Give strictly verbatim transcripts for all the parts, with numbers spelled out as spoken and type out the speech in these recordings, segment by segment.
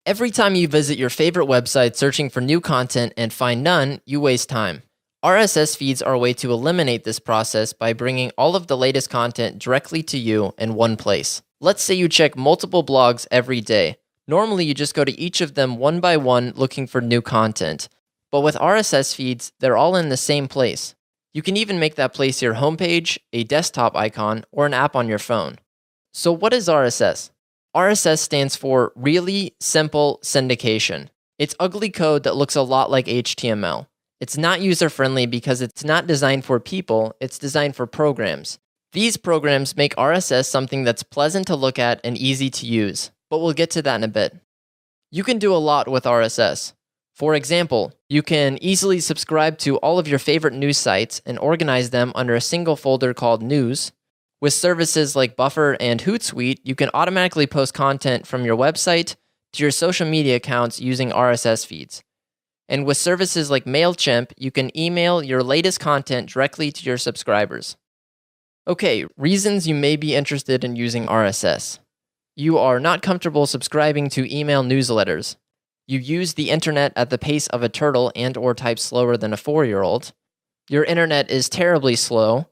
Every time you visit your favorite website searching for new content and find none, you waste time. R S S feeds are a way to eliminate this process by bringing all of the latest content directly to you in one place. Let's say you check multiple blogs every day. Normally, you just go to each of them one by one looking for new content. But with R S S feeds, they're all in the same place. You can even make that place your homepage, a desktop icon, or an app on your phone. So what is R S S? R S S stands for Really Simple Syndication. It's ugly code that looks a lot like H T M L. It's not user-friendly because it's not designed for people, it's designed for programs. These programs make R S S something that's pleasant to look at and easy to use, but we'll get to that in a bit. You can do a lot with R S S. For example, you can easily subscribe to all of your favorite news sites and organize them under a single folder called News. With services like Buffer and Hootsuite, you can automatically post content from your website to your social media accounts using R S S feeds. And with services like MailChimp, you can email your latest content directly to your subscribers. Okay, reasons you may be interested in using R S S. You are not comfortable subscribing to email newsletters. You use the internet at the pace of a turtle and or type slower than a four-year-old. Your internet is terribly slow,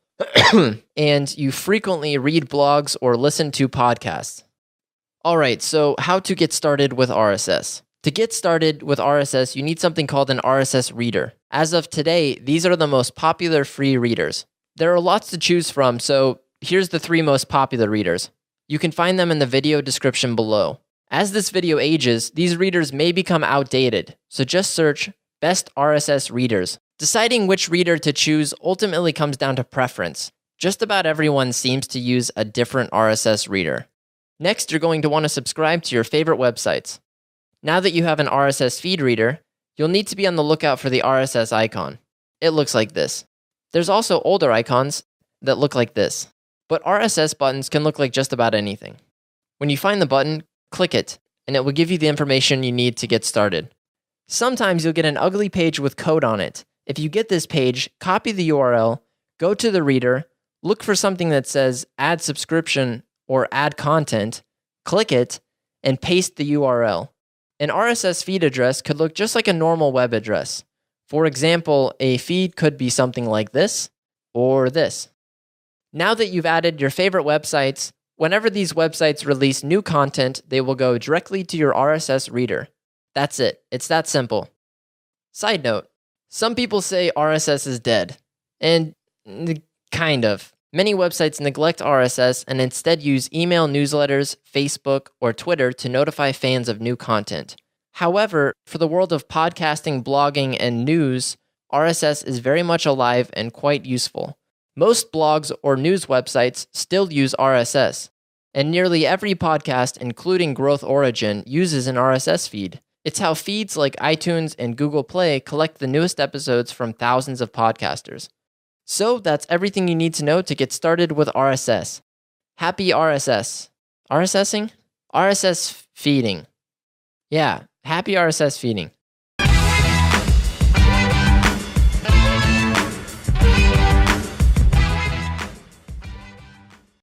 and you frequently read blogs or listen to podcasts. Alright, so how to get started with R S S. To get started with R S S, you need something called an R S S reader. As of today, these are the most popular free readers. There are lots to choose from, so here's the three most popular readers. You can find them in the video description below. As this video ages, these readers may become outdated, so just search Best R S S Readers. Deciding which reader to choose ultimately comes down to preference. Just about everyone seems to use a different R S S reader. Next, you're going to want to subscribe to your favorite websites. Now that you have an R S S feed reader, you'll need to be on the lookout for the R S S icon. It looks like this. There's also older icons that look like this. But R S S buttons can look like just about anything. When you find the button, click it, and it will give you the information you need to get started. Sometimes you'll get an ugly page with code on it. If you get this page, copy the U R L, go to the reader, look for something that says Add Subscription or Add Content, click it, and paste the U R L. An R S S feed address could look just like a normal web address. For example, a feed could be something like this or this. Now that you've added your favorite websites, whenever these websites release new content, they will go directly to your R S S reader. That's it. It's that simple. Side note, some people say R S S is dead. And kind of. Many websites neglect R S S and instead use email newsletters, Facebook, or Twitter to notify fans of new content. However, for the world of podcasting, blogging, and news, R S S is very much alive and quite useful. Most blogs or news websites still use R S S, and nearly every podcast, including Growth Origin, uses an R S S feed. It's how feeds like iTunes and Google Play collect the newest episodes from thousands of podcasters. So that's everything you need to know to get started with R S S. Happy R S S. RSSing? R S S feeding. Yeah, happy R S S feeding.